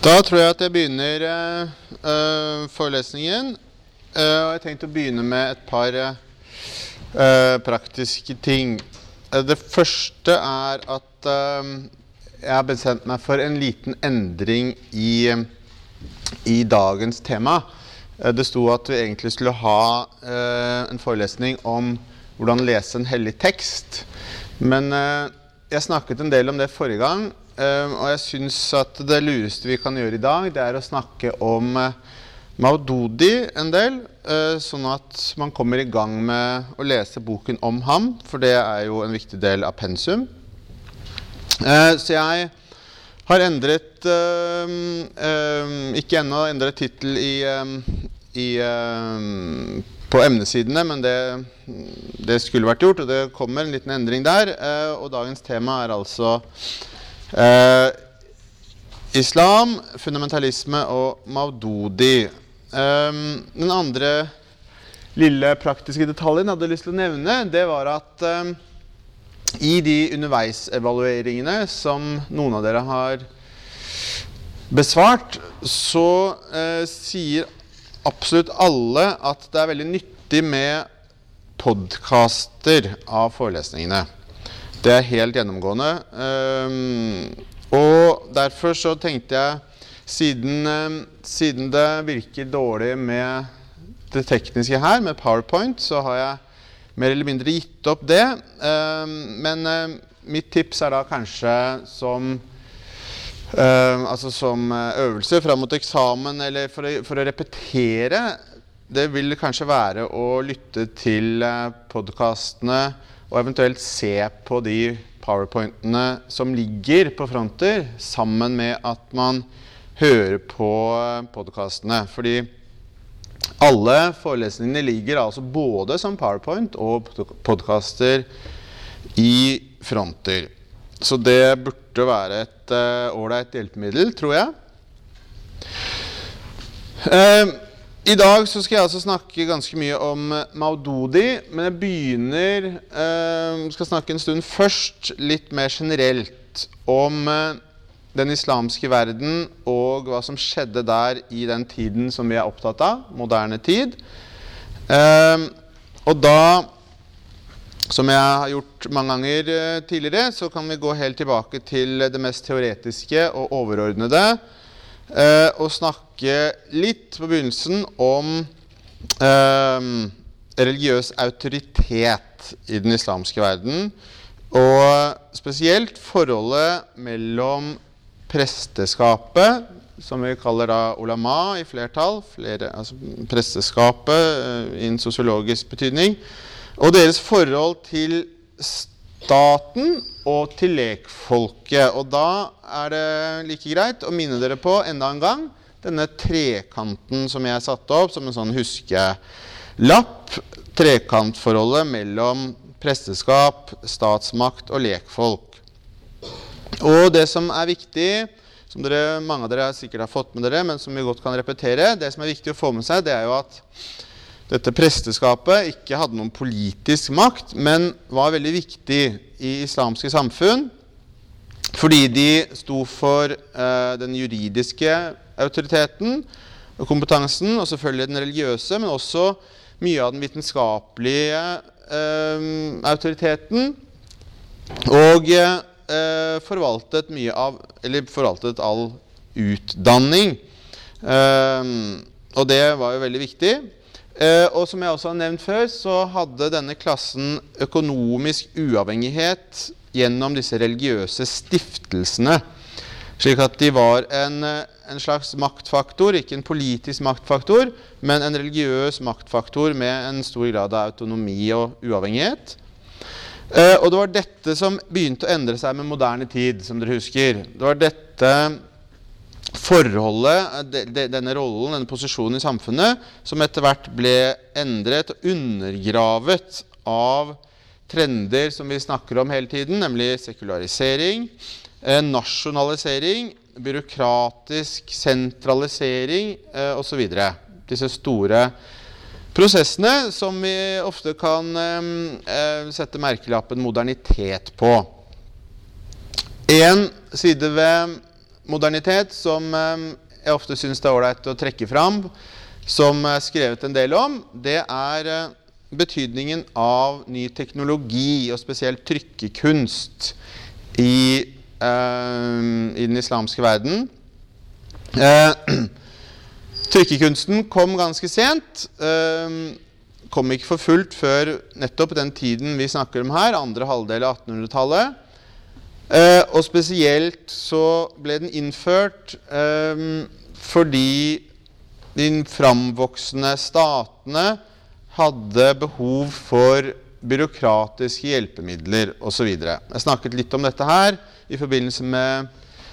Da tror jeg at jeg begynner forelesningen, og jeg tenkte å begynne med et par praktiske ting. Det første at jeg har bestemt meg for en liten endring i dagens tema. Det sto at vi egentlig skulle ha en forelesning om hvordan lese en hellig tekst, men jeg snakket en del om det forrige gang, og jeg synes at det lureste vi kan gjøre i dag, det å snakke om Maududi en del, sånn at man kommer i gang med å lese boken om ham, for det jo en viktig del av pensum. Så jeg har endret, ikke ennå endret titel på emnesidene, men det skulle vært gjort, og det kommer en liten endring der, og dagens tema altså islam, fundamentalisme og Maududi. Den andre lille praktiske detaljen jeg hadde lyst til å nevne, det var at i de underveisevalueringene som noen av dere har besvart, så sier absolutt alle at det veldig nyttig med podcaster av forelesningene. Det helt gjennomgående, og derfor så tenkte jeg, siden det virker dårlig med det tekniske her, med PowerPoint, så har jeg mer eller mindre gitt opp det, men mitt tips da kanskje som øvelse frem mot eksamen, eller for å repetere, det vil kanskje være å lytte til podcastene, og eventuelt se på de PowerPointene som ligger på fronter, sammen med at man hører på podcastene. Fordi alle forelesningene ligger altså både som PowerPoint og podcaster i fronter. Så det burde være et ordentlig hjelpemiddel, tror jeg. I dag så skal jeg altså snakke ganske mye om Maududi, men jeg skal snakke en stund først litt mer generelt om den islamske verden og hva som skjedde der i den tiden som vi opptatt av, moderne tid. Og da, som jeg har gjort mange ganger tidligere, så kan vi gå helt tilbake til det mest teoretiske og overordnede, og snakke litt på begynnelsen om religiøs autoritet i den islamske verden, og spesielt forholdet mellom presteskapet, som vi kaller da ulama i flertall, altså presteskapet i en sosiologisk betydning, og deres forhold til staten og til lekfolket. Og da det like greit å minne dere på enda en gang denne trekanten som jeg satte opp som en sånn huskelapp, trekantforholdet mellom presteskap, statsmakt og lekfolk. Og det som viktig, som mange av dere sikkert har fått med dere, men som vi godt kan repetere, det som viktig å få med seg, det jo at dette presteskapet ikke hadde noen politisk makt, men var veldig viktig i islamske samfunn, fordi de sto for den juridiske autoriteten og kompetansen, og selvfølgelig den religiøse, men også mye av den vitenskapelige autoriteten, og forvaltet all utdanning. Og det var jo veldig viktig. Og som jeg også har nevnt før, så hadde denne klassen økonomisk uavhengighet gjennom disse religiøse stiftelsene, slik at de var en slags maktfaktor, ikke en politisk maktfaktor, men en religiøs maktfaktor med en stor grad av autonomi og uavhengighet. Og det var dette som begynte å endre seg med moderne tid, som dere husker. Det var dette forholdet, denne rollen, denne posisjonen i samfunnet, som etter hvert ble endret og undergravet av trender som vi snakker om hele tiden, nemlig sekularisering, nasjonalisering, byråkratisk sentralisering og så videre. Disse store prosessene som vi ofte kan sette merkelappen modernitet på. En side ved modernitet som jeg ofte synes det ålreit å trekke fram, som skrevet en del om, det betydningen av ny teknologi, og spesielt trykkekunst i den islamske verden. Trykkekunsten kom ganske sent, kom ikke for fullt før nettopp den tiden vi snakker om her, andre halvdel av 1800-tallet. Og spesielt så ble den innført fordi de framvoksende statene hadde behov for byråkratiske hjelpemidler og så videre. Jeg snakket litt om dette her i forbindelse med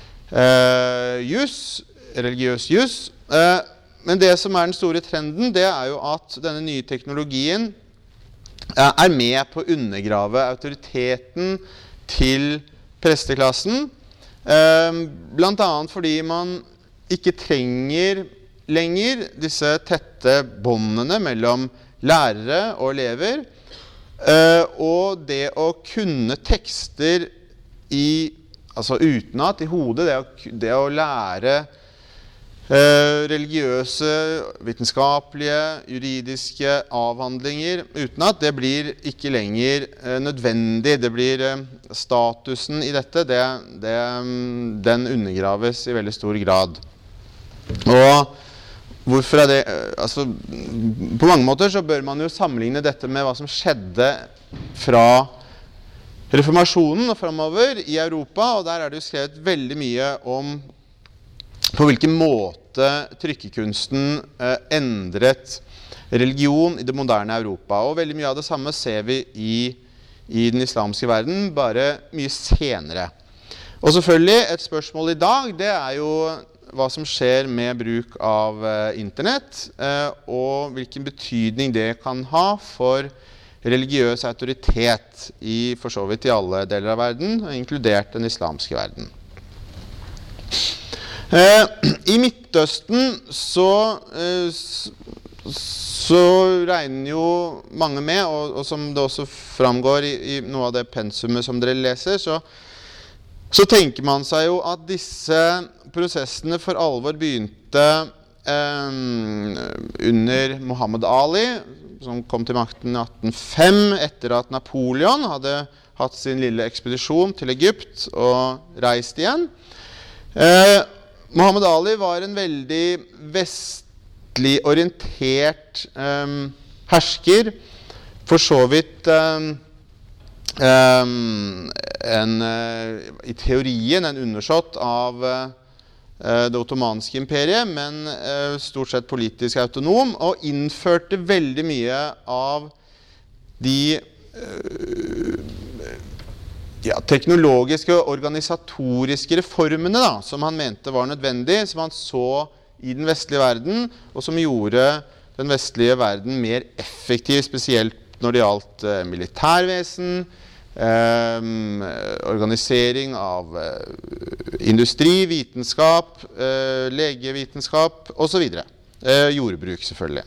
religiøs jus. Men det som den store trenden, det jo at denne nye teknologien med på å undergrave autoriteten til presteklassen, blant annet fordi man ikke trenger lenger disse tette båndene mellom lærere og elever, og det å kunne tekster altså utenat i hodet, det å lære religiøse, vitenskapelige, juridiske avhandlinger utenat, det blir ikke lenger nødvendig. Det blir statusen i dette, den undergraves i veldig stor grad. Og hvorfor det? Altså, på mange måter så bør man jo sammenligne dette med hva som skjedde fra reformasjonen og fremover i Europa, og der det jo skrevet veldig mye om på hvilken måte trykkekunsten endret religion i det moderne Europa. Og veldig mye av det samme ser vi i den islamske verden, bare mye senere. Og selvfølgelig, et spørsmål i dag, det jo hva som skjer med bruk av internett, og hvilken betydning det kan ha for religiøs autoritet for så vidt i alle deler av verden, inkludert den islamske verden. I Midtøsten så regner jo mange med, og som det også framgår i noe av det pensumet som dere leser, så tenker man seg jo at disse prosessene for alvor begynte under Muhammad Ali, som kom til makten i 1805, etter at Napoleon hadde hatt sin lille ekspedisjon til Egypt og reist igjen. Muhammad Ali var en veldig vestlig orientert hersker, for så vidt i teorien en undersått av det ottomanske imperiet, men stort sett politisk autonom, og innførte veldig mye av de teknologiske og organisatoriske reformene som han mente var nødvendig, som han så i den vestlige verden, og som gjorde den vestlige verden mer effektiv, spesielt når det gjaldt militærvesen, organisering av industri, vitenskap, legevitenskap, og så videre. Jordbruk, selvfølgelig.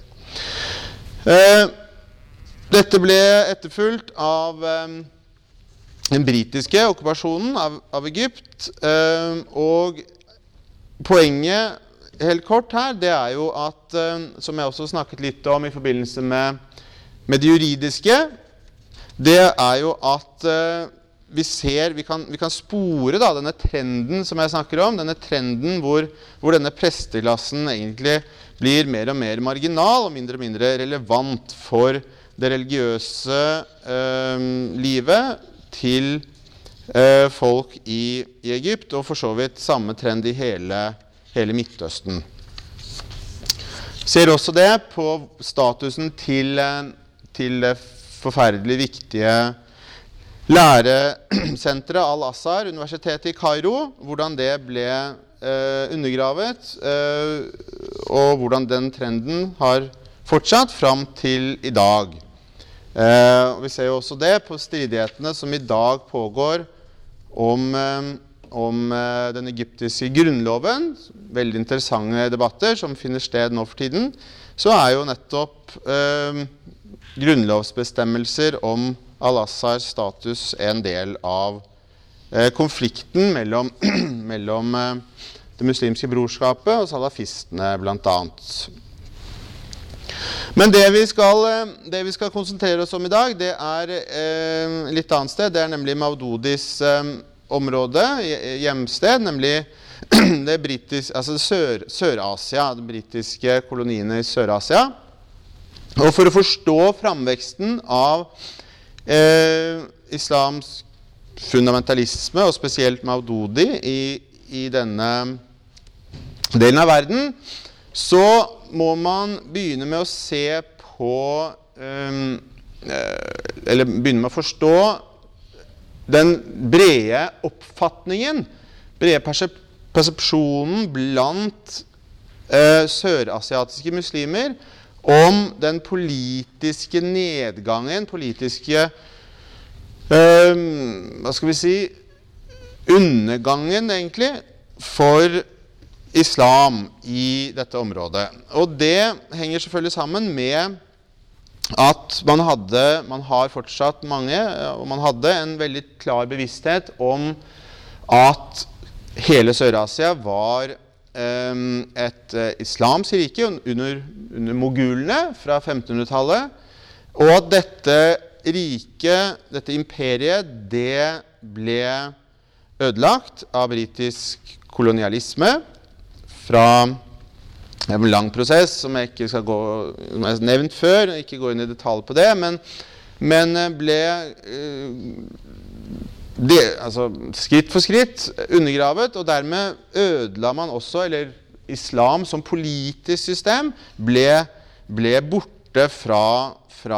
Dette ble etterfulgt av den britiske okkupasjonen av Egypt, og poenget helt kort her, det jo at, som jeg også snakket litt om i forbindelse med det juridiske, det jo at vi kan spore denne trenden som jeg snakker om, denne trenden hvor denne presteklassen egentlig blir mer og mer marginal og mindre relevant for det religiøse livet til folk i Egypt, og for så vidt samme trend i hele Midtøsten. Ser også det på statusen til det forferdelig viktige læresenteret Al-Azhar, universitetet i Kairo, hvordan det ble undergravet, og hvordan den trenden har fortsatt fram til i dag. Vi ser jo også det på stridighetene som i dag pågår om den egyptiske grunnloven, veldig interessante debatter som finner sted nå for tiden, så jo nettopp grunnlovsbestemmelser om Al-Azhars status en del av konflikten mellom, mellom det muslimske brorskapet og salafistene blant annet. Men det vi skal konsentrere oss om i dag, det litt annet sted. Det nemlig Maududis område, hjemsted, nemlig det britiske, altså Sør-Asia, de britiske koloniene i Sør-Asia. Og for å forstå framveksten av islamsk fundamentalisme, og spesielt Maududi i denne delen av verden, så må man begynne med å se på, eller begynne med å forstå den brede oppfatningen, brede persepsjonen blant sørasiatiske muslimer om den politiske nedgangen, politiske hva skal vi si, undergangen egentlig, for islam i dette området. Og det henger selvfølgelig sammen med at man har fortsatt mange, og man hadde en veldig klar bevissthet om at hele Sør-Asia var et islamsk rike under mogulene fra 1500-tallet, og at dette riket, dette imperiet, det ble ødelagt av britisk kolonialisme fra en lang prosess som jeg ikke skal gå, som jeg har nevnt før, ikke gå inn i detalj på det, men ble altså skritt for skritt undergravet, og dermed ødela man også, eller islam som politisk system ble borte fra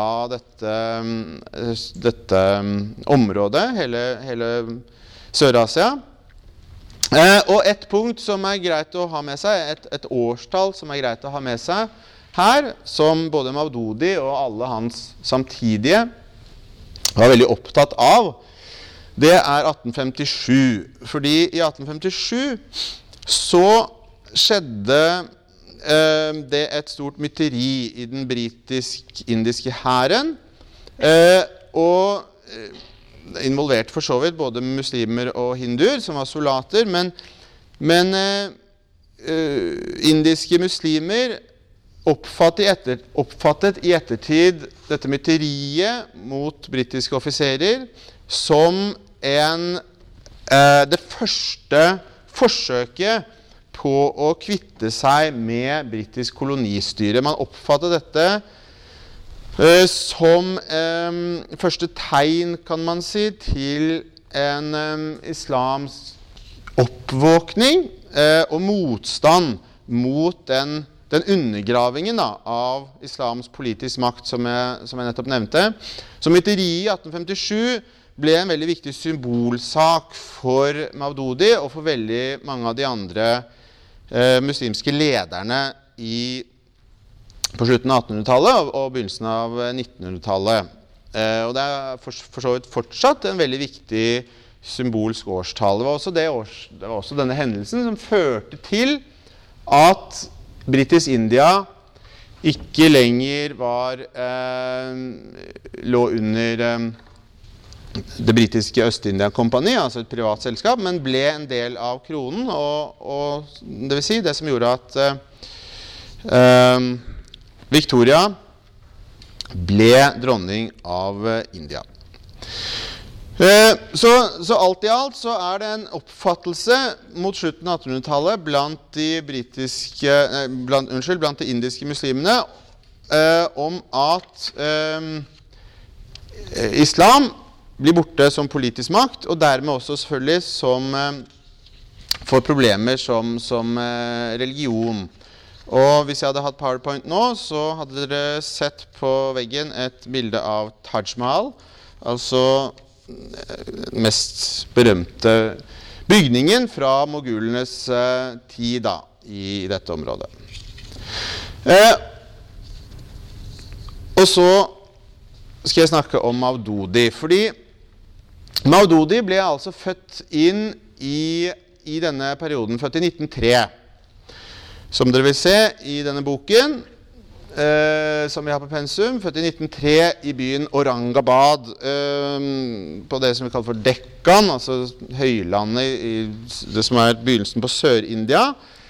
dette området, hele Sør-Asia. Og et punkt som greit å ha med seg, et årstall som greit å ha med seg her, som både Maududi og alle hans samtidige var veldig opptatt av, det 1857. Fordi i 1857 så skjedde det et stort mytteri i den britisk-indiske hæren, og involvert for så vidt både muslimer og hinduer som var soldater, men indiske muslimer oppfattet i ettertid dette mytteriet mot britiske offiserer som det første forsøket på å kvitte seg med britisk kolonistyre. Man oppfattet dette som første tegn, kan man si, til en islamsk oppvåkning og motstand mot den undergravingen av islamsk politisk makt, som jeg nettopp nevnte. Så mytteriet i 1857 ble en veldig viktig symbolsak for Maududi og for veldig mange av de andre muslimske lederne på slutten av 1800-tallet og begynnelsen av 1900-tallet. Og det for så vidt fortsatt en veldig viktig symbolsk årstall. Det var også denne hendelsen som førte til at Britisk India ikke lenger lå under det britiske Øst-India-kompani, altså et privat selskap, men ble en del av kronen, og det vil si det som gjorde at Victoria ble dronning av India. Så alt i alt så det en oppfattelse mot slutten av 1800-tallet blant blant de indiske muslimene om at islam blir borte som politisk makt, og dermed også selvfølgelig får problemer som religion. Og hvis jeg hadde hatt PowerPoint nå, så hadde dere sett på veggen et bilde av Taj Mahal, altså den mest berømte bygningen fra mogulenes tid i dette området. Og så skal jeg snakke om Maududi, fordi Maududi ble altså født inn i denne perioden, født i 1903. Som dere vil se i denne boken, som vi har på pensum, født i 1903 i byen Aurangabad, på det som vi kaller for Dekkan, altså høylandet i det som begynnelsen på Sør-India.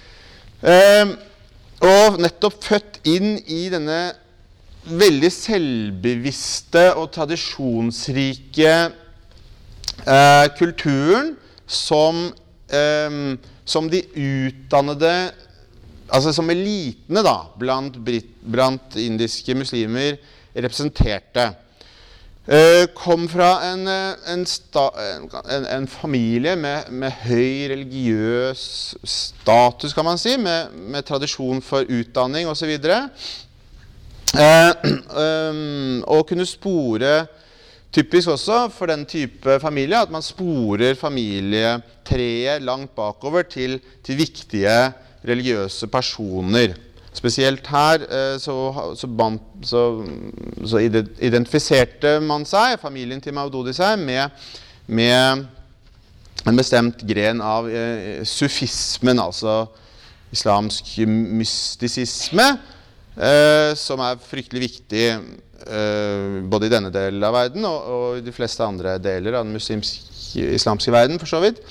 Og nettopp født inn i denne veldig selvbevisste og tradisjonsrike kulturen som de utdannede, altså som elitene da, blant indiske muslimer representerte. Kom fra en familie med høy religiøs status, kan man si, med tradisjon for utdanning og så videre. Og kunne spore, typisk også for den type familie, at man sporer familietreet langt bakover til viktige religiøse personer. Spesielt her så identifiserte man seg, familien til Maududi seg, med en bestemt gren av sufismen, altså islamsk mystisisme, som fryktelig viktig både i denne delen av verden og i de fleste andre deler av den islamske verden, for så vidt.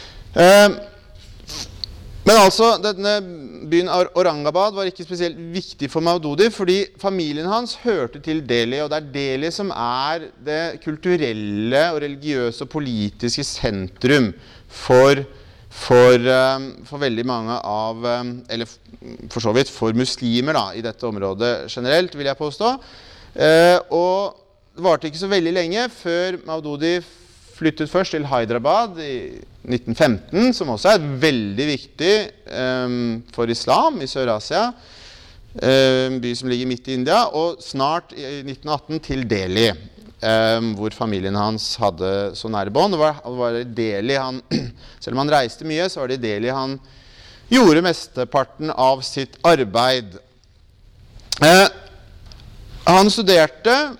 Men altså, denne byen Aurangabad var ikke spesielt viktig for Maududi, fordi familien hans hørte til Delhi, og det Delhi som det kulturelle og religiøse og politiske sentrum for veldig mange av, eller for så vidt for muslimer da, i dette området generelt, vil jeg påstå. Og det varte ikke så veldig lenge før Maududi flyttet først til Hyderabad i 1915, som også veldig viktig for islam i Sør-Asia, en by som ligger midt i India, og snart i 1918 til Delhi, hvor familien hans hadde så nære bånd. Det var i Delhi selv om han reiste mye, så var det i Delhi han gjorde mesteparten av sitt arbeid. Han studerte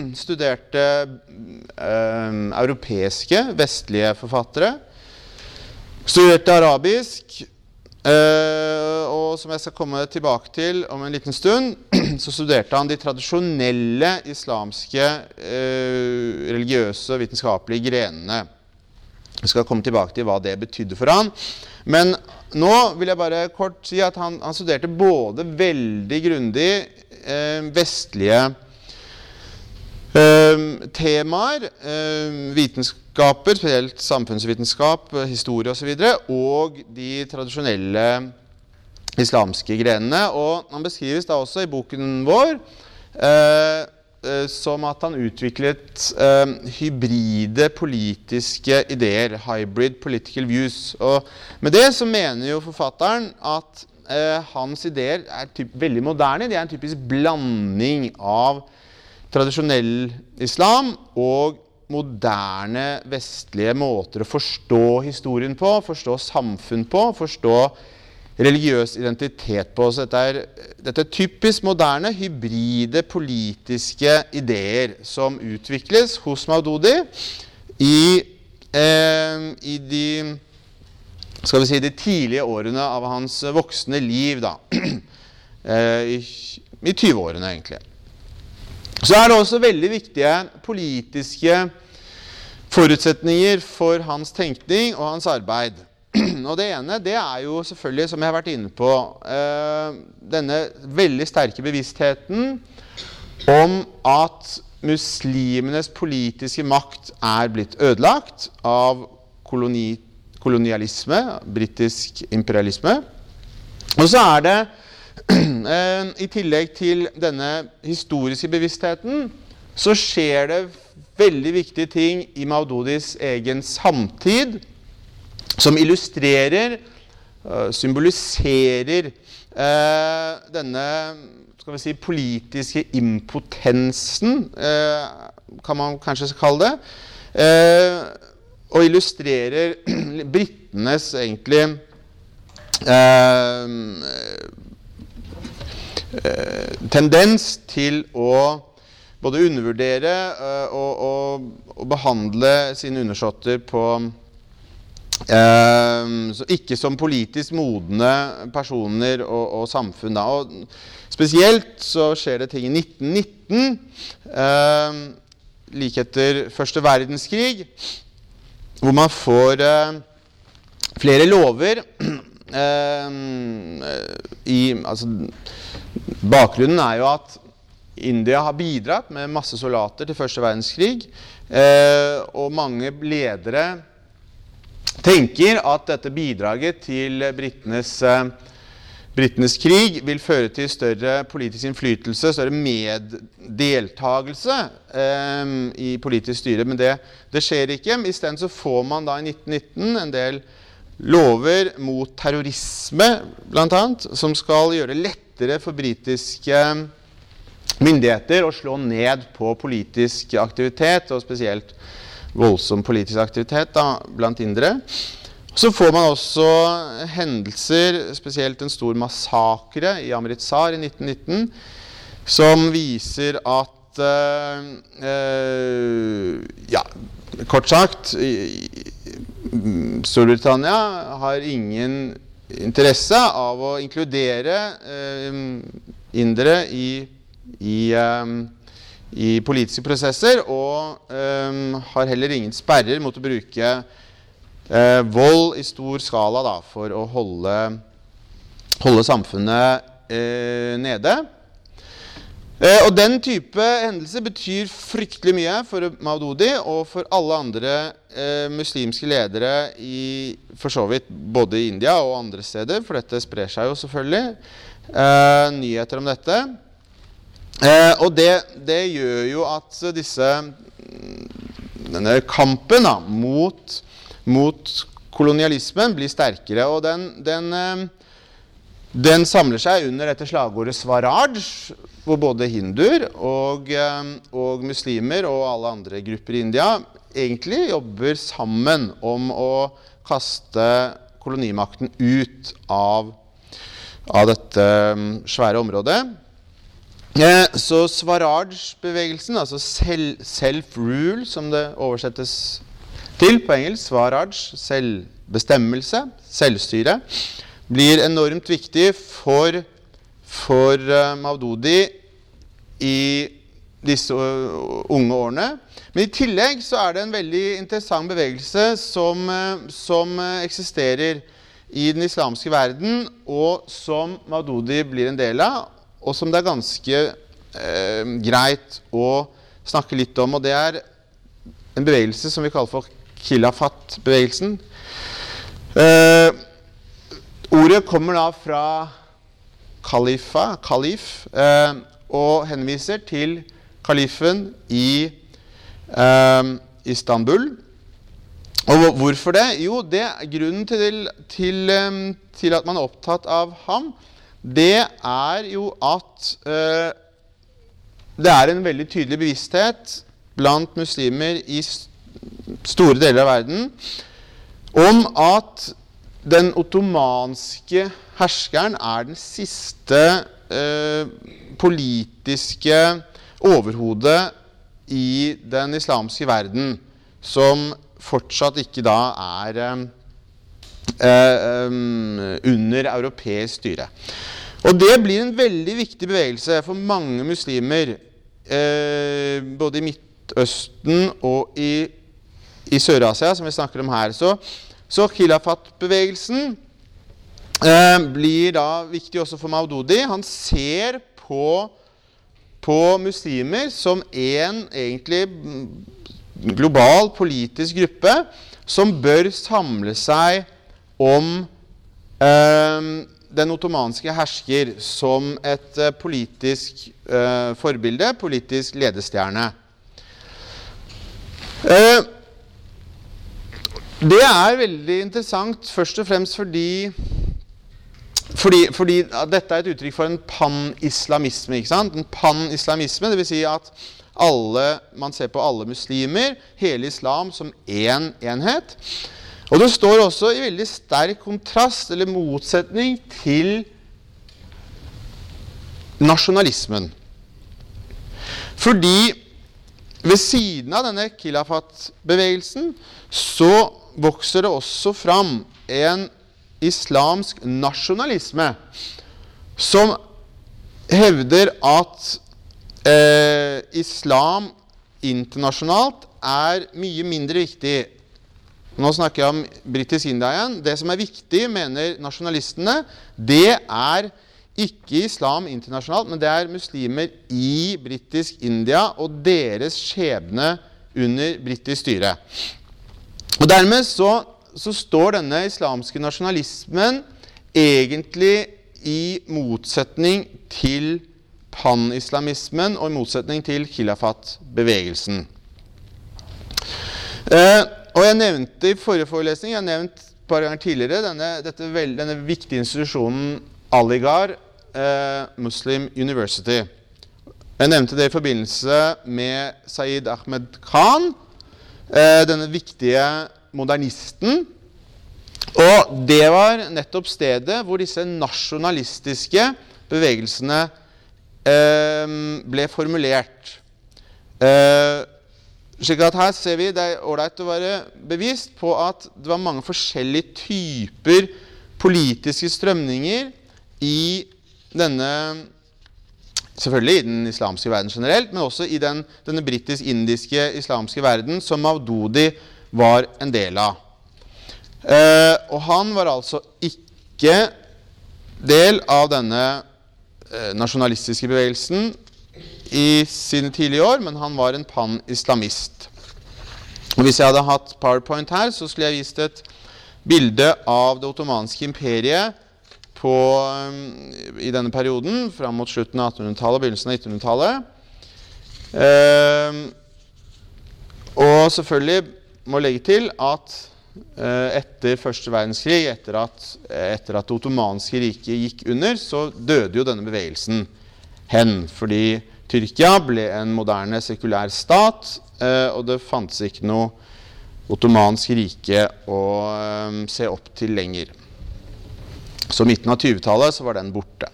europeiske, vestlige forfattere, studerte arabisk, og som jeg skal komme tilbake til om en liten stund, så studerte han de tradisjonelle islamske, religiøse og vitenskapelige grenene. Jeg skal komme tilbake til hva det betydde for han. Men nå vil jeg bare kort si at han studerte både veldig grundig vestlige temaer, vitenskaper, spesielt samfunnsvitenskap, historie og så videre, og de tradisjonelle islamske grenene. Og han beskrives da også i boken vår som at han utviklet hybride politiske ideer, hybrid political views. Og med det så mener jo forfatteren at hans ideer veldig moderne. De en typisk blanding av tradisjonell islam og moderne vestlige måter å forstå historien på, forstå samfunn på, forstå religiøs identitet på. Så dette typisk moderne, hybride politiske ideer som utvikles hos Maududi i de, skal vi si, de tidlige årene av hans voksne liv da, i 20-årene egentlig. Så det også veldig viktige politiske forutsetninger for hans tenkning og hans arbeid. Og det ene, det jo selvfølgelig, som jeg har vært inne på, denne veldig sterke bevisstheten om at muslimenes politiske makt blitt ødelagt av kolonialisme, britisk imperialisme. Og så det, i tillegg til denne historiske bevisstheten, så skjer det veldig viktige ting i Maududis egen samtid, som illustrerer, symboliserer denne, skal vi si, politiske impotensen, kan man kanskje kalle det, og illustrerer brittenes egentlig tendens til å både undervurdere og behandle sine undersåtter på Så ikke som politisk modne personer og samfunn da. Og spesielt så skjer det ting i 1919, like etter Første verdenskrig, hvor man får flere lover. Bakgrunnen er jo at India har bidratt med masse soldater til Første verdenskrig, og mange ledere tenker at dette bidraget til brittenes krig vil føre til større politisk innflytelse, større meddeltagelse i politisk styre, men det skjer ikke. I stedet så får man da i 1919 en del lover mot terrorisme, blant annet, som skal gjøre det lettere for britiske myndigheter å slå ned på politisk aktivitet, og spesielt voldsom politisk aktivitet da, blant indere. Så får man også hendelser, spesielt en stor massakre i Amritsar i 1919, som viser at, kort sagt, Storbritannia har ingen interesse av å inkludere indere i politiske prosesser, og har heller ingen sperrer mot å bruke vold i stor skala da, for å holde samfunnet nede. Og den type hendelser betyr fryktelig mye for Maududi og for alle andre muslimske ledere for så vidt både i India og andre steder, for dette sprer seg jo selvfølgelig nyheter om dette. Og det gjør jo at denne kampen da, mot kolonialismen blir sterkere, og den samler seg under dette slagordet Swaraj, hvor både hinduer og muslimer og alle andre grupper i India egentlig jobber sammen om å kaste kolonimakten ut av dette svære området. Så Swaraj-bevegelsen, altså self-rule, som det oversettes til på engelsk, Swaraj, selvbestemmelse, selvstyre, blir enormt viktig for Maududi i disse unge årene. Men i tillegg så er det en veldig interessant bevegelse som eksisterer i den islamske verden, og som Maududi blir en del av, og som det er ganske greit å snakke litt om, og det er en bevegelse som vi kaller for Khilafat-bevegelsen. Ordet kommer da fra kalif, og henviser til kalifen i Istanbul. Og hvorfor det? Jo, grunnen til at man er opptatt av ham, det er jo at det er en veldig tydelig bevissthet blant muslimer i store deler av verden om at den ottomanske herskeren er den siste politiske overhodet i den islamske verden, som fortsatt ikke da er under europeisk styre. Og det blir en veldig viktig bevegelse for mange muslimer, både i Midtøsten og i Sør-Asia, som vi snakker om her. Så Khilafat-bevegelsen blir da viktig også for Maududi. Han ser på muslimer som en egentlig global politisk gruppe som bør samle seg om den ottomanske hersker som et politisk forbilde, politisk ledestjerne. Det er veldig interessant, først og fremst fordi dette er et uttrykk for en pan-islamisme, ikke sant? En pan-islamisme, det vil si at man ser på alle muslimer, hele islam som en enhet. Og det står også i veldig sterk kontrast eller motsetning til nasjonalismen. Fordi ved siden av denne Khilafat-bevegelsen så vokser det også fram en islamsk nasjonalisme som hevder at islam internasjonalt mye mindre viktig. Nå snakker jeg om Britisk India igjen. Det som viktig, mener nasjonalistene, det ikke islam internasjonalt, men det muslimer i Britisk India og deres skjebne under britisk styre. Og dermed så står denne islamske nasjonalismen egentlig i motsetning til pan-islamismen og i motsetning til khilafat-bevegelsen. Og jeg nevnte i forrige forelesning, jeg har nevnt et par ganger tidligere, denne viktige institusjonen Aligarh Muslim University. Jeg nevnte det i forbindelse med Saeed Ahmed Khan, denne viktige modernisten. Og det var nettopp stedet hvor disse nasjonalistiske bevegelsene ble formulert. Slik at her ser vi det ordentlig å være bevisst på at det var mange forskjellige typer politiske strømninger i denne, selvfølgelig i den islamske verden generelt, men også i denne britisk-indiske islamske verden som Maududi var en del av. Og han var altså ikke del av denne nasjonalistiske bevegelsen i sine tidlige år, men han var en pan-islamist. Og hvis jeg hadde hatt PowerPoint her, så skulle jeg vist et bilde av det ottomanske imperiet i denne perioden, fram mot slutten av 1800-tallet og begynnelsen av 1900-tallet. Og selvfølgelig må legge til at etter første verdenskrig, etter at det ottomanske riket gikk under, så døde jo denne bevegelsen hen, fordi Tyrkia ble en moderne sekulær stat, og det fantes ikke noe ottomansk rike å se opp til lenger. Så midten av 20-tallet så var den borte.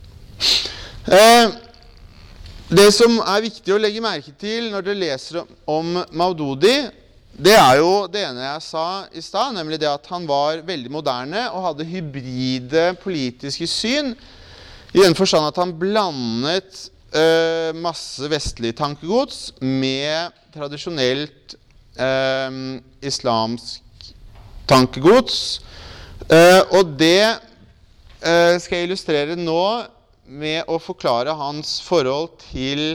Det som viktig å legge merke til når dere leser om Maududi, det jo det ene jeg sa i sted, nemlig det at han var veldig moderne og hadde hybride politiske syn, i den forstand at han blandet masse vestlig tankegods med tradisjonelt islamsk tankegods. Og det skal jeg illustrere nå med å forklare hans forhold til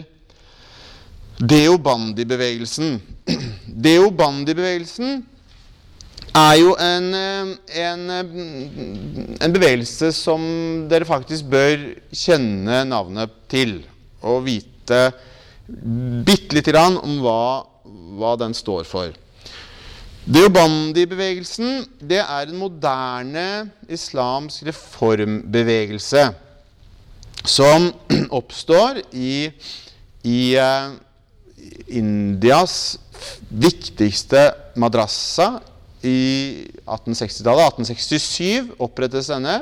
Deobandi-bevegelsen. Deobandi-bevegelsen jo en bevegelse som dere faktisk bør kjenne navnet til, og vite bitte litt grann om hva den står for. Deobandi-bevegelsen, det en moderne islamsk reformbevegelse som oppstår i Indias viktigste madrassa i 1860-tallet. 1867 opprettes denne.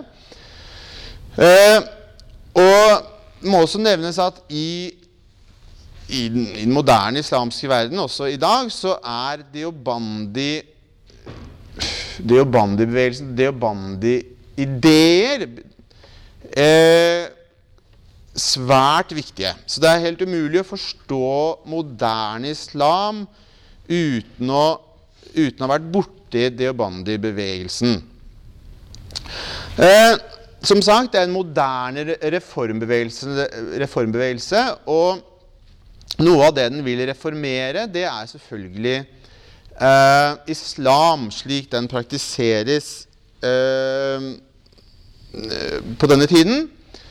Og det må også nevnes at i den moderne islamske verden, også i dag, så Deobandi-bevegelsen, Deobandi-ideer svært viktige. Så det helt umulig å forstå moderne islam uten å ha vært borti Deobandi-bevegelsen. Som sagt, det en moderne reformbevegelse, og noe av det den vil reformere, det selvfølgelig islam, slik den praktiseres på denne tiden.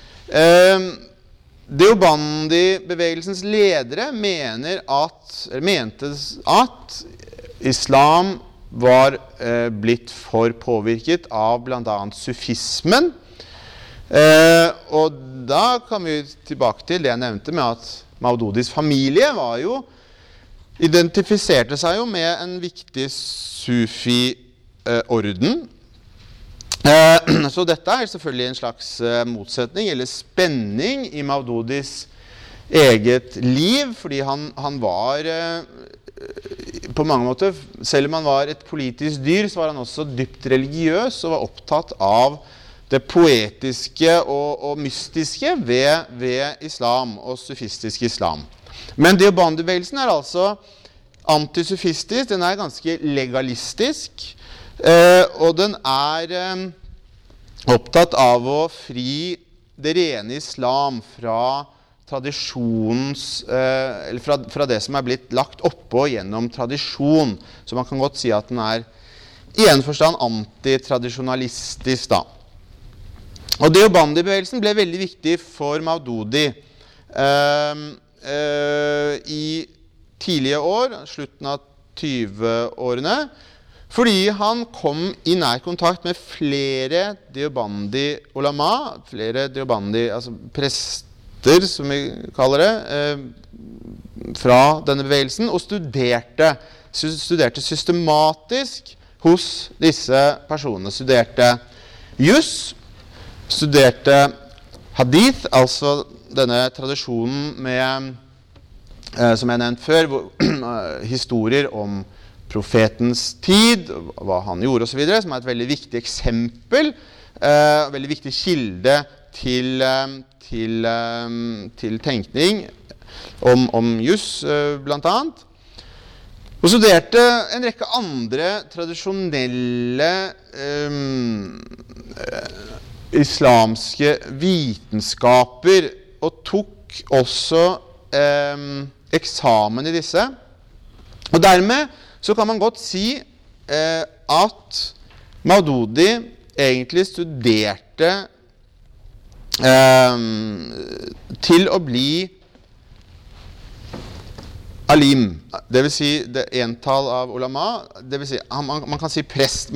Deobandi-bevegelsens ledere mente at islam var blitt for påvirket av blant annet sufismen. Og da kan vi tilbake til det jeg nevnte med at Maududis familie identifiserte seg jo med en viktig sufi-orden. Så dette selvfølgelig en slags motsetning eller spenning i Maududis eget liv, fordi han var på mange måter, selv om han var et politisk dyr, så var han også dypt religiøs og var opptatt av det poetiske og mystiske ved islam og sufistisk islam. Men Deobandi-bevegelsen altså antisufistisk, den ganske legalistisk, og den opptatt av å fri det rene islam fra tradisjonens, eller fra det som blitt lagt oppå gjennom tradisjon. Så man kan godt si at den i en forstand antitradisjonalistisk da. Og Deobandi-bevegelsen ble veldig viktig for Maududi i tidlige år, slutten av 20-årene, fordi han kom i nær kontakt med flere Deobandi-ulama, flere Deobandi, altså prester, som vi kaller det, fra denne bevegelsen, og studerte systematisk hos disse personene. Studerte jus, studerte hadith, altså denne tradisjonen med, som jeg nevnte før, historier om profetens tid, hva han gjorde og så videre, som et veldig viktig eksempel, veldig viktig kilde til tenkning om jus, blant annet. Og studerte en rekke andre tradisjonelle islamske vitenskaper, og tok også eksamen i disse. Og dermed så kan man godt si at Maududi egentlig studerte til å bli alim, det vil si det entall av ulama, det vil si, man kan si prest,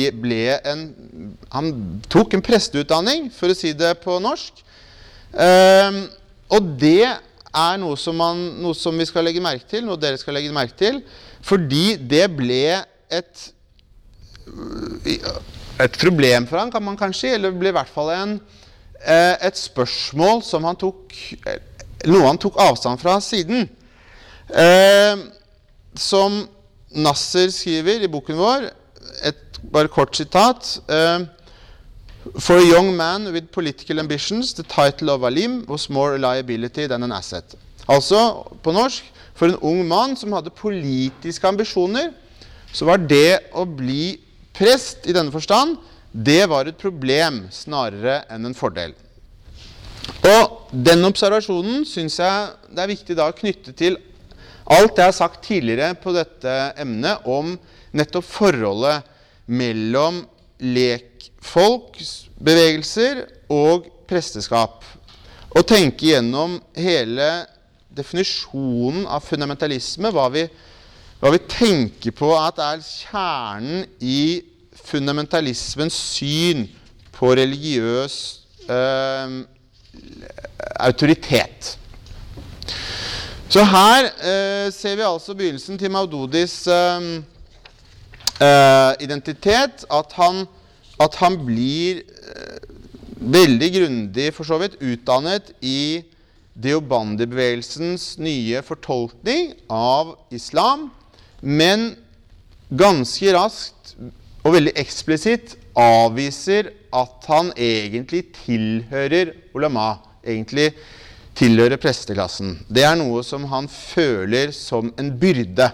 han tok en presteutdanning, for å si det på norsk, og det noe som vi skal legge merke til, noe dere skal legge merke til, fordi det ble et problem for han, kan man kanskje, eller det ble i hvert fall et spørsmål som noe han tok avstand fra siden. Som Nasser skriver i boken vår, bare kort sitat, For a young man with political ambitions, the title of alim was more a liability than an asset. Altså, på norsk, for en ung mann som hadde politiske ambisjoner, så var det å bli prest i denne forstand, det var et problem snarere enn en fordel. Og den observasjonen synes jeg det viktig da å knytte til alt jeg har sagt tidligere på dette emnet om nettopp forholdet mellom lekfolks bevegelser og presteskap. Og tenke gjennom hele definisjonen av fundamentalisme, hva vi tenker på at kjernen i fundamentalismens syn på religiøs autoritet. Så her ser vi altså begynnelsen til Maududis identitet, at han blir veldig grundig for så vidt utdannet i Deobandi-bevegelsens nye fortolkning av islam, men ganske raskt og veldig eksplisitt avviser at han egentlig tilhører ulama, egentlig tilhører presteklassen. Det noe som han føler som en byrde.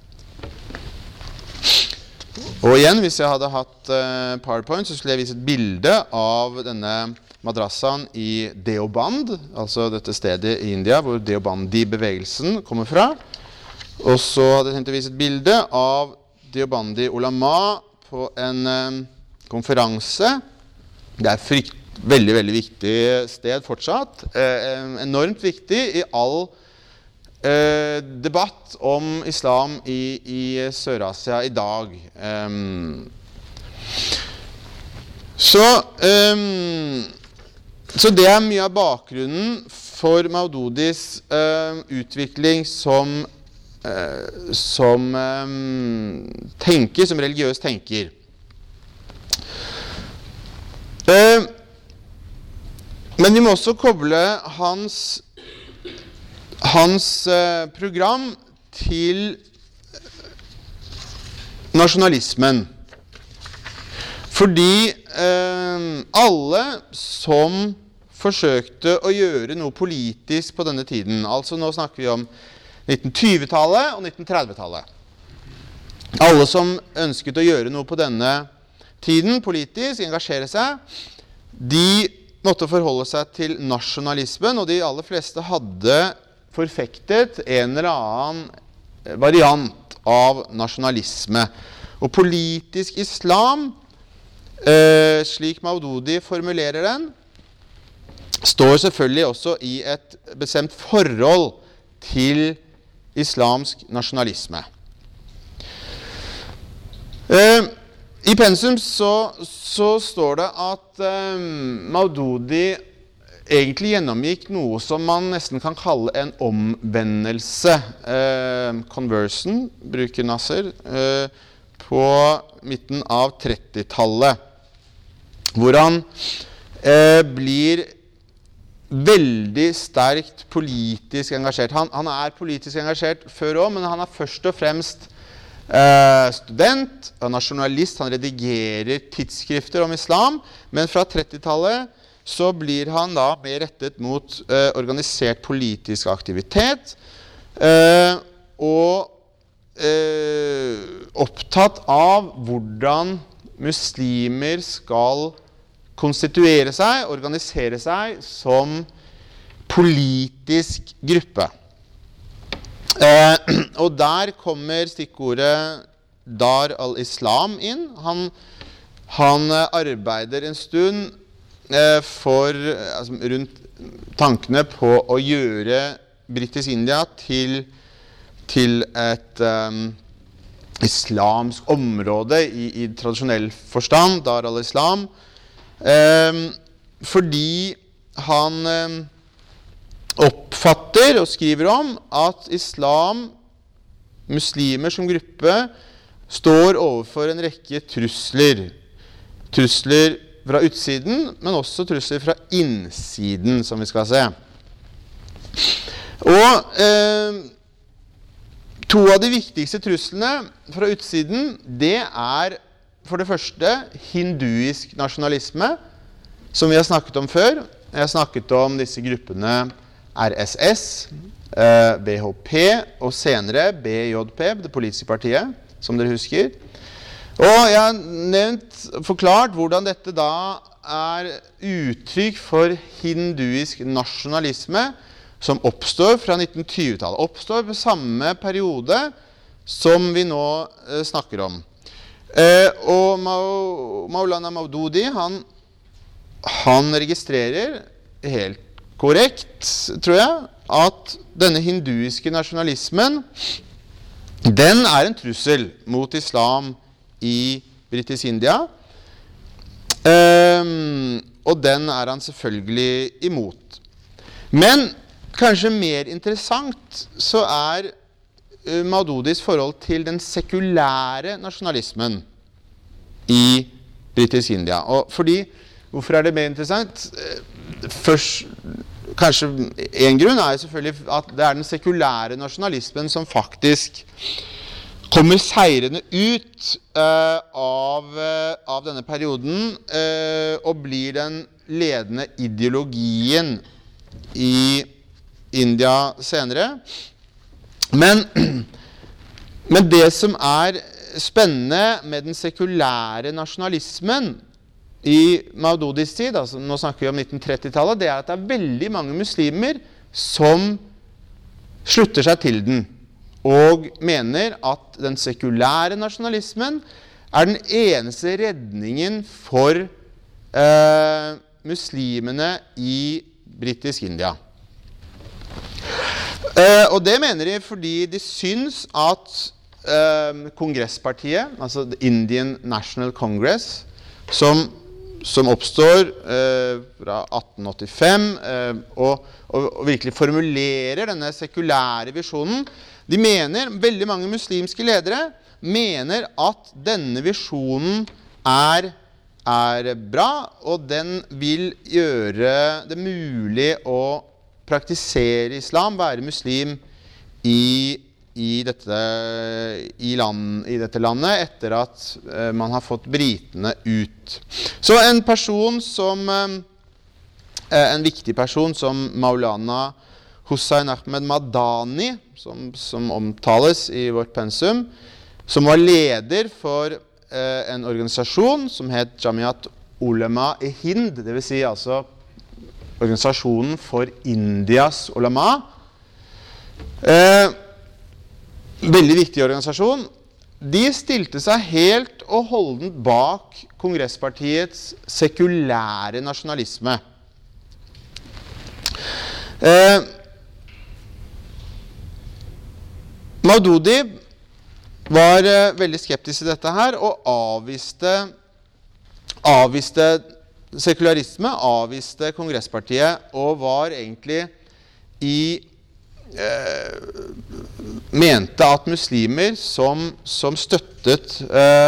Og igjen, hvis jeg hadde hatt PowerPoint, så skulle jeg vise et bilde av denne madrassaen i Deoband, altså dette stedet i India hvor Deobandi-bevegelsen kommer fra. Og så hadde jeg tenkt å vise et bilde av Deobandi ulama på en konferanse. Det veldig, veldig viktig sted fortsatt. Enormt viktig i all debatt om islam i Sør-Asia i dag. Så det mye av bakgrunnen for Maududis utvikling som tenker, som religiøs tenker. Men vi må også koble hans program til nasjonalismen. Fordi alle som forsøkte å gjøre noe politisk på denne tiden, altså nå snakker vi om 1920-tallet og 1930-tallet. Alle som ønsket å gjøre noe på denne tiden politisk, engasjere seg, de måtte forholde seg til nasjonalismen, og de aller fleste hadde forfektet en eller annen variant av nasjonalisme. Og politisk islam, slik Maududi formulerer den, står selvfølgelig også i et bestemt forhold til islamsk nasjonalisme. I pensum så står det at Maududi egentlig gjennomgikk noe som man nesten kan kalle en omvendelse. Conversion bruker Nasser på midten av 30-tallet, hvor han blir veldig sterkt politisk engasjert. Han er politisk engasjert før også, men han er først og fremst student og nasjonalist. Han redigerer tidsskrifter om islam, men fra 30-tallet så blir han da mer rettet mot organisert politisk aktivitet og opptatt av hvordan muslimer skal konstituere seg, organisere seg som politisk gruppe. Og der kommer stikkordet Dar al-Islam inn. Han arbeider en stund rundt tankene på å gjøre Britisk India til et islamsk område i tradisjonell forstand, Dar al-Islam, fordi han oppfatter og skriver om at muslimer som gruppe, står overfor en rekke trusler. Trusler fra utsiden, men også trusler fra innsiden, som vi skal se. Og to av de viktigste truslene fra utsiden, det er for det første hinduisk nasjonalisme, som vi har snakket om før. Jeg har snakket om disse gruppene RSS, BHP og senere BJP, det politiske partiet, som dere husker. Og jeg har forklart hvordan dette da er uttrykk for hinduisk nasjonalisme som oppstår fra 1920-tallet. Oppstår på samme periode som vi nå snakker om. Og Maulana Maududi, han registrerer helt korrekt, tror jeg, at denne hinduiske nasjonalismen, den er en trussel mot islam i Britisk India, og den er han selvfølgelig imot. Men kanskje mer interessant så er Maududis forhold til den sekulære nasjonalismen i Britisk India. Og hvorfor er det mer interessant? Først, kanskje en grunn er selvfølgelig at det er den sekulære nasjonalismen som faktisk kommer seirende ut av denne perioden og blir den ledende ideologien i India senere. Men det som er spennende med den sekulære nasjonalismen i Maududis tid, altså nå snakker vi om 1930-tallet, det er at det er veldig mange muslimer som slutter seg til den, og mener at den sekulære nasjonalismen er den eneste redningen for muslimene i Britisk India. Og det mener de fordi de syns at kongresspartiet, altså Indian National Congress, som oppstår fra 1885 og virkelig formulerer denne sekulære visjonen, de mener, veldig mange muslimske ledere mener at denne visjonen er bra, og den vil gjøre det mulig å praktisere islam, være muslim i i dette landet etter at man har fått britene ut. Så en viktig person som Maulana Hussein Ahmed Madani, som omtales i vårt pensum, som var leder for en organisasjon som het Jamiat Ulema i Hind, det vil si altså organisasjonen for Indias ulama. Veldig viktig organisasjon. De stilte seg helt og holdent bak kongresspartiets sekulære nasjonalisme. Maududi var veldig skeptisk til dette her, og avviste sekularisme, avviste kongresspartiet, og var egentlig mente at muslimer som støttet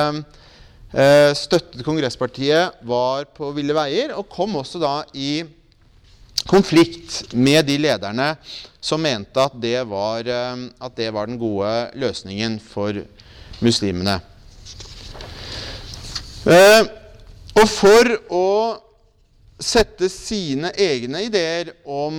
kongresspartiet var på ville veier, og kom også da i konflikt med de lederne som mente at det var den gode løsningen for muslimene. Og for å sette sine egne ideer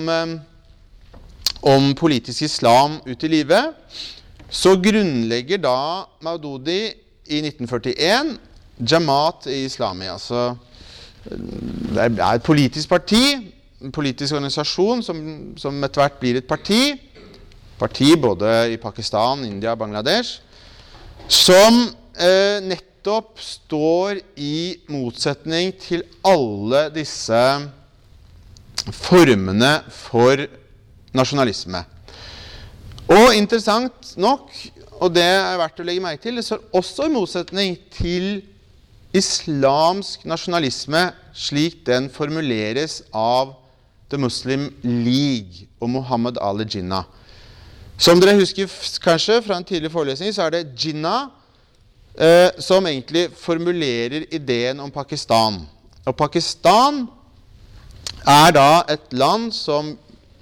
om politisk islam ut i livet, så grunnlegger da Maududi i 1941 Jamaat i Islami. Altså, det er et politisk parti, en politisk organisasjon som etter hvert blir et parti både i Pakistan, India og Bangladesh, som nettopp står i motsetning til alle disse formene for nasjonalisme. Og interessant nok, og det er verdt å legge merke til, det står også i motsetning til islamsk nasjonalisme slik den formuleres av The Muslim League og Muhammad Ali Jinnah. Som dere husker kanskje fra en tidlig forelesning, så er det Jinnah som egentlig formulerer ideen om Pakistan. Og Pakistan er da et land som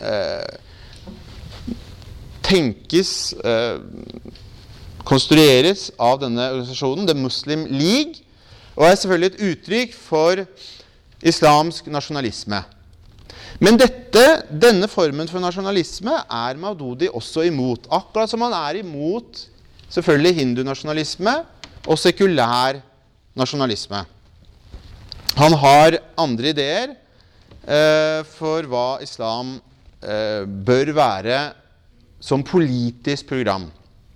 konstrueres av denne organisasjonen, The Muslim League, og er selvfølgelig et uttrykk for islamsk nasjonalisme. Men denne formen for nasjonalisme er Maududi også imot, akkurat som han er imot selvfølgelig hindunasjonalisme og sekulær nasjonalisme. Han har andre ideer for hva islam bør være som politisk program.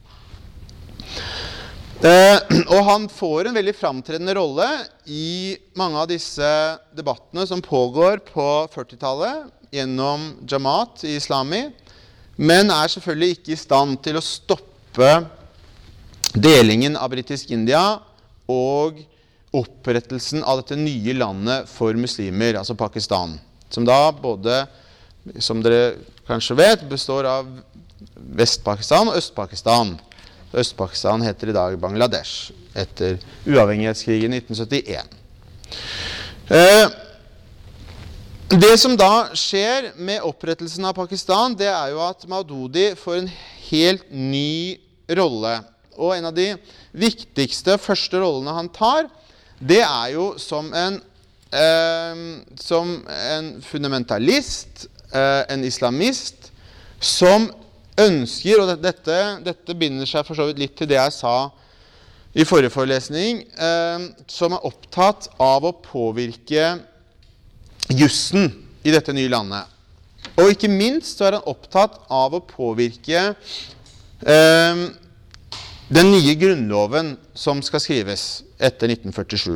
Og han får en veldig framtredende rolle i mange av disse debattene som pågår på 40-tallet gjennom Jamaat i Islami, men er selvfølgelig ikke i stand til å stoppe delingen av Britisk India og opprettelsen av dette nye landet for muslimer, altså Pakistan, som da både, som dere kanskje vet, består av Vest-Pakistan og Øst-Pakistan. Øst-Pakistan heter i dag Bangladesh, etter uavhengighetskrigen i 1971. Det som da skjer med opprettelsen av Pakistan, det er jo at Maududi får en helt ny rolle. Og en av de viktigste første rollene han tar, det er jo som en fundamentalist, en islamist, som ønsker, og dette binder seg for så vidt litt til det jeg sa i forrige forelesning, som er opptatt av å påvirke jussen i dette nye landet. Og ikke minst så er han opptatt av å påvirke den nye grunnloven som skal skrives etter 1947.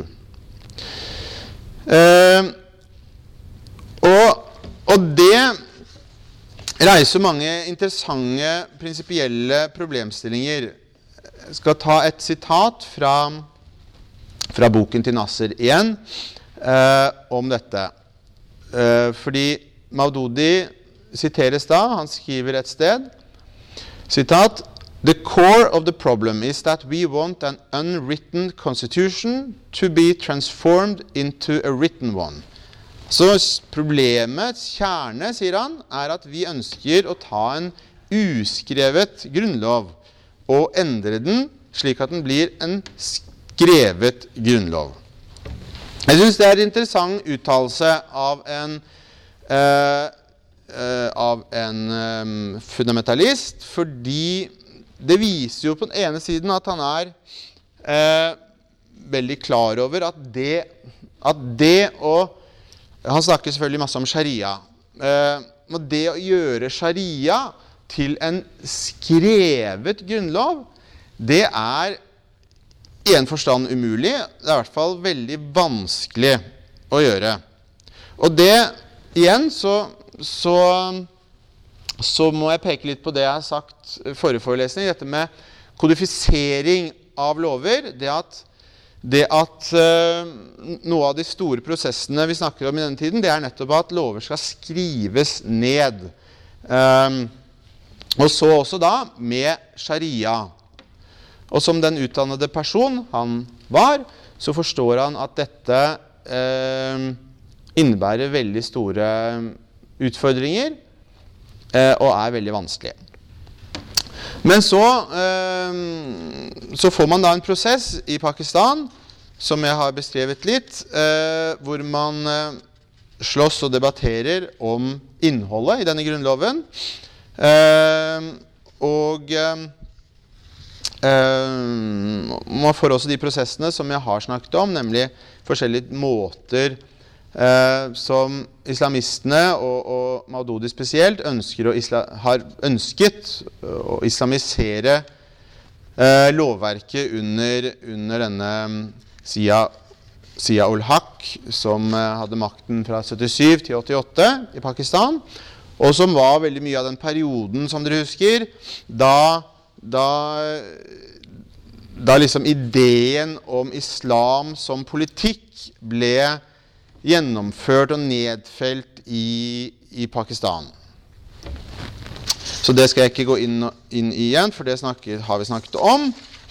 Og det reiser mange interessante prinsipielle problemstillinger. Jeg skal ta et sitat fra boken til Nasser igjen om dette. Fordi Maududi siteres da, han skriver et sted, sitat, "The core of the problem is that we want an unwritten constitution to be transformed into a written one." Så problemets kjerne, sier han, er at vi ønsker å ta en uskrevet grunnlov, og endre den slik at den blir en skrevet grunnlov. Jeg synes det er en interessant uttalelse av en fundamentalist, fordi det viser jo på den ene siden at han er veldig klar over at det å, han snakker selvfølgelig masse om sharia, men det å gjøre sharia til en skrevet grunnlov, det er i en forstand umulig, det er i hvert fall veldig vanskelig å gjøre. Og det, igjen, så må jeg peke litt på det jeg har sagt i forrige forelesning, dette med kodifisering av lover, det at noe av de store prosessene vi snakker om i denne tiden, det er nettopp at lover skal skrives ned. Og så også da med sharia. Og som den utdannede person han var, så forstår han at dette innebærer veldig store utfordringer og er veldig vanskelig. Men så får man da en prosess i Pakistan, som jeg har beskrevet litt, hvor man slåss og debatterer om innholdet i denne grunnloven. Man får også de prosessene som jeg har snakket om, nemlig forskjellige måter som islamistene og Maududi spesielt har ønsket å islamisere lovverket under denne Zia ul Haq, som hadde makten fra 77 til 88 i Pakistan, og som var veldig mye av den perioden, som dere husker, da liksom ideen om islam som politikk ble gjennomført og nedfelt i Pakistan. Så det skal jeg ikke gå inn i igjen, for det har vi snakket om.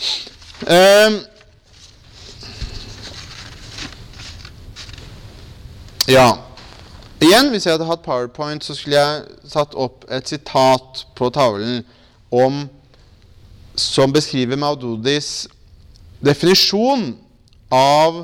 Ja, igjen, hvis jeg hadde hatt PowerPoint, så skulle jeg satt opp et sitat på tavlen som beskriver Maududis definisjon av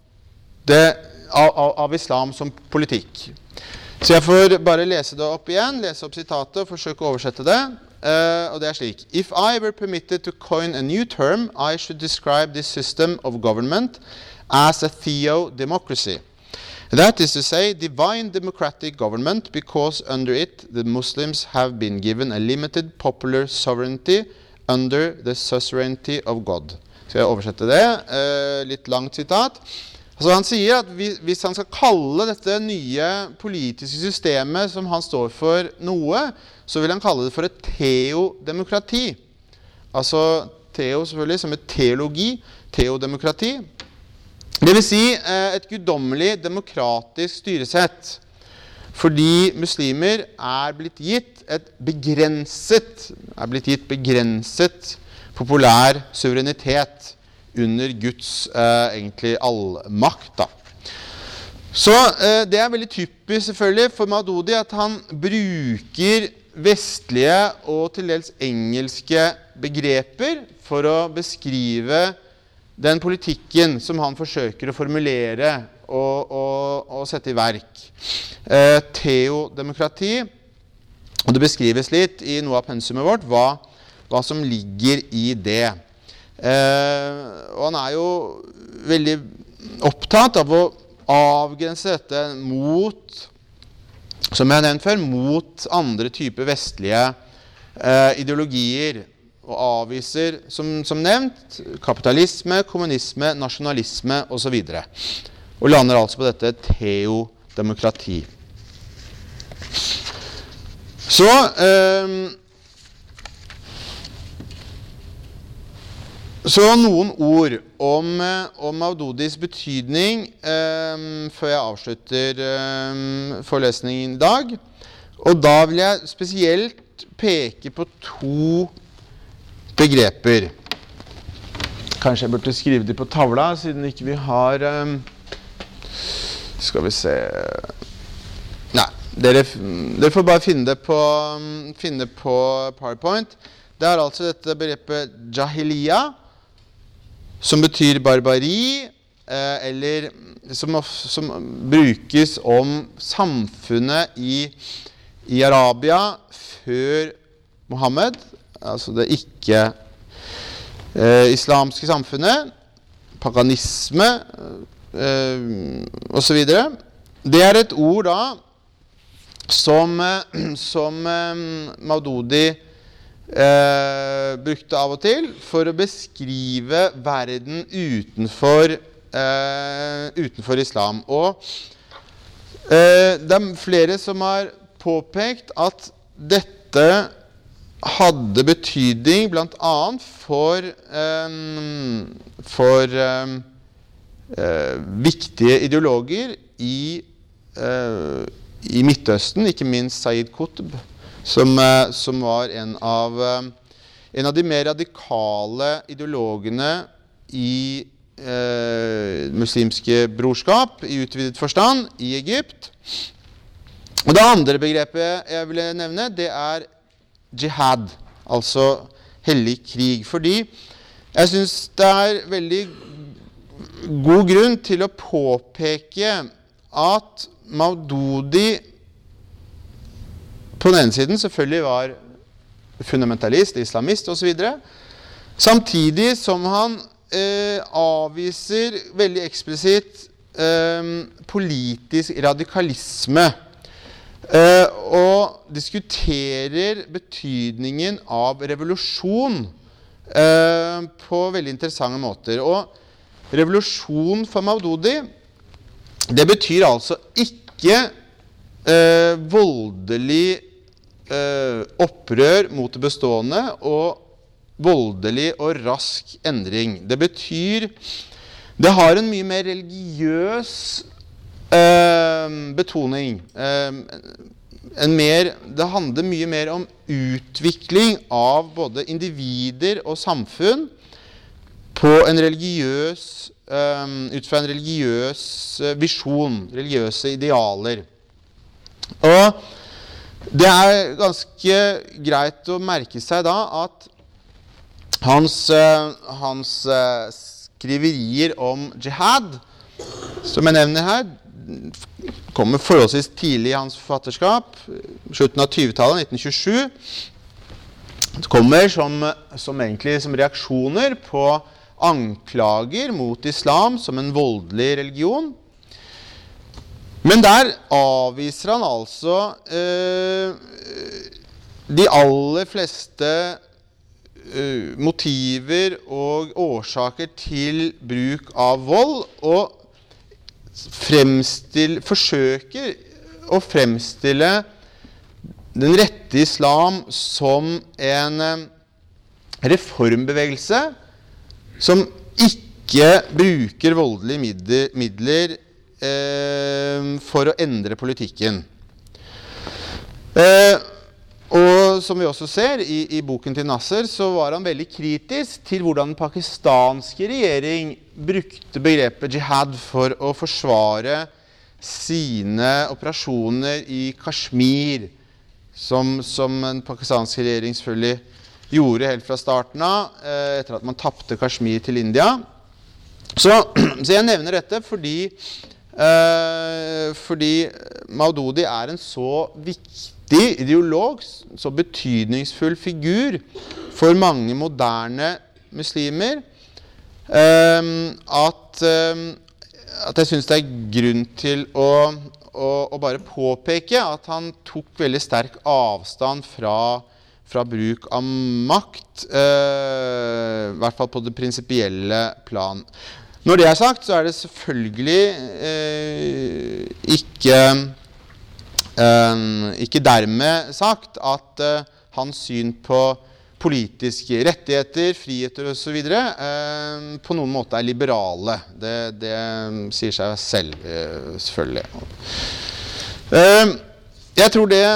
islam som politikk. Så jeg får bare lese det opp igjen, lese opp sitatet og forsøke å oversette det. Og det er slik: If I were permitted to coin a new term, I should describe this system of government as a theodemocracy. That is to say, divine democratic government, because under it the Muslims have been given a limited popular sovereignty under the suzerainty of God. Skal jeg oversette det? Litt langt sitat. Altså han sier at hvis han skal kalle dette nye politiske systemet som han står for noe, så vil han kalle det for et teodemokrati. Altså teo selvfølgelig som et teologi, teodemokrati. Det vil si et guddommelig demokratisk styresett, fordi muslimer er blitt gitt begrenset populær suverenitet under Guds egentlig allmakt da. Så det er veldig typisk selvfølgelig for Maududi at han bruker vestlige og til dels engelske begreper for å beskrive den politikken som han forsøker å formulere og sette i verk. Teodemokrati, og det beskrives litt i noe av pensumet vårt hva som ligger i det. Og han er jo veldig opptatt av å avgrense dette mot, som jeg har nevnt før, mot andre typer vestlige ideologier, og avviser, som nevnt, kapitalisme, kommunisme, nasjonalisme og så videre. Og lander altså på dette teodemokrati. Så noen ord om Maududis betydning før jeg avslutter forelesningen i dag. Og da vil jeg spesielt peke på to begreper. Kanskje jeg burde skrive det på tavla, siden ikke vi har skal vi se. Nei, dere får bare finne det på PowerPoint. Det er altså dette begrepet jahiliya, som betyr barbari, eller som brukes om samfunnet i Arabia før Mohammed, altså det ikke islamske samfunnet, paganisme og så videre. Det er et ord da som Maududi brukte av og til for å beskrive verden utenfor islam. Og det er flere som har påpekt at dette hadde betydning blant annet for viktige ideologer i Midtøsten, ikke minst Sayyid Qutb, som var en av de mer radikale ideologene i muslimske brorskap i utvidet forstand i Egypt. Og det andre begrepet jeg vil nevne, det er jihad, altså hellig krig, fordi jeg synes det er veldig god grunn til å påpeke at Maududi på den ene siden selvfølgelig var fundamentalist, islamist og så videre, samtidig som han avviser veldig eksplisitt politisk radikalisme og diskuterer betydningen av revolusjon på veldig interessante måter. Og revolusjon for Maududi, det betyr altså ikke voldelig opprør mot det bestående og voldelig og rask endring. Det betyr, det har en mye mer religiøs betoning. Det handler mye mer om utvikling av både individer og samfunn på en religiøs, ut fra en religiøs visjon, religiøse idealer. Og det er ganske greit å merke seg da at hans skriverier om jihad, som jeg nevner her, kommer forholdsvis tidlig i hans forfatterskap, slutten av 20-tallet, 1927. Det kommer egentlig som reaksjoner på anklager mot islam som en voldelig religion. Men der avviser han altså de aller fleste motiver og årsaker til bruk av vold, og forsøker å fremstille den rette islam som en reformbevegelse som ikke bruker voldelige midler for å endre politikken. Og som vi også ser i boken til Nasser, så var han veldig kritisk til hvordan den pakistanske regjering brukte begrepet jihad for å forsvare sine operasjoner i Kashmir, som den pakistanske regjering selvfølgelig gjorde helt fra starten av, etter at man tappte Kashmir til India. Så jeg nevner dette fordi Maududi er en så viktig ideolog, så betydningsfull figur for mange moderne muslimer, at jeg synes det er grunn til å bare påpeke at han tok veldig sterk avstand fra bruk av makt, i hvert fall på det prinsipielle plan. Når det er sagt, så er det selvfølgelig ikke dermed sagt at hans syn på politiske rettigheter, friheter og så videre, på noen måte er liberale. Det sier seg selv, selvfølgelig. Jeg tror det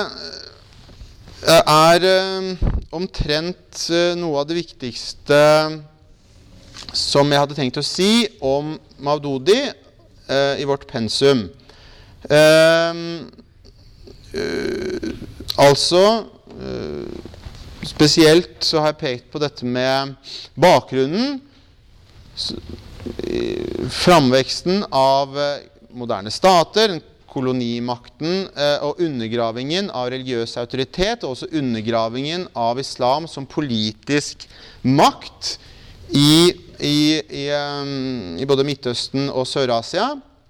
er omtrent noe av det viktigste som jeg hadde tenkt å si om Maududi i vårt pensum. spesielt så har jeg pekt på dette med bakgrunnen, framveksten av moderne stater, kolonimakten og undergravingen av religiøs autoritet, og også undergravingen av islam som politisk makt i både Midtøsten og Sør-Asia.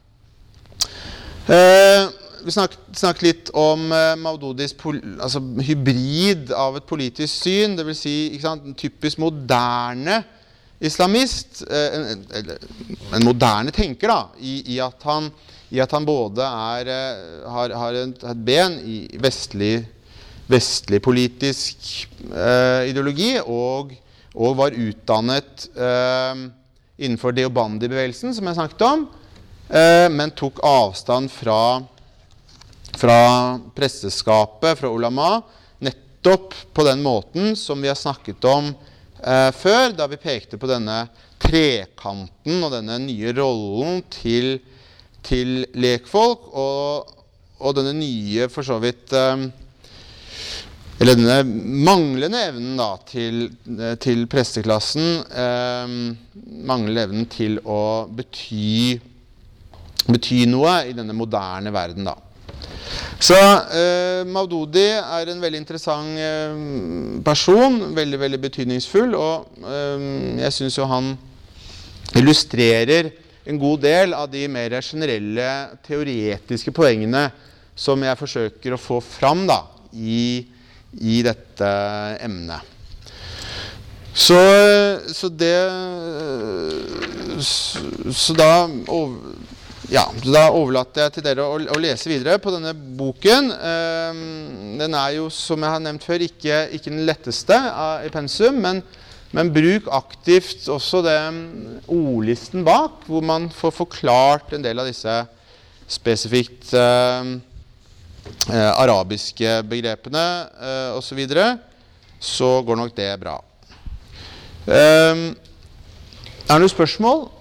Vi snakket litt om Maududis hybrid av et politisk syn, det vil si en typisk moderne islamist, en moderne tenker da, i at han både har et ben i vestlig politisk ideologi og var utdannet innenfor Deobandi-bevegelsen, som jeg snakket om, men tok avstand fra presteskapet, fra ulama, nettopp på den måten som vi har snakket om før, da vi pekte på denne trekanten og denne nye rollen til lekfolk, og denne nye, for så vidt, eller denne manglende evnen da, til presteklassen, manglende evnen til å bety noe i denne moderne verden da. Så Maududi er en veldig interessant person, veldig, veldig betydningsfull, og jeg synes jo han illustrerer en god del av de mer generelle teoretiske poengene som jeg forsøker å få fram da, i dette emnet. Så da overlater jeg til dere å lese videre på denne boken. Den er jo, som jeg har nevnt før, ikke den letteste i pensum, men bruk aktivt også den ordlisten bak, hvor man får forklart en del av disse spesifikt arabiske begrepene og så videre, så går nok det bra. Er det noen spørsmål?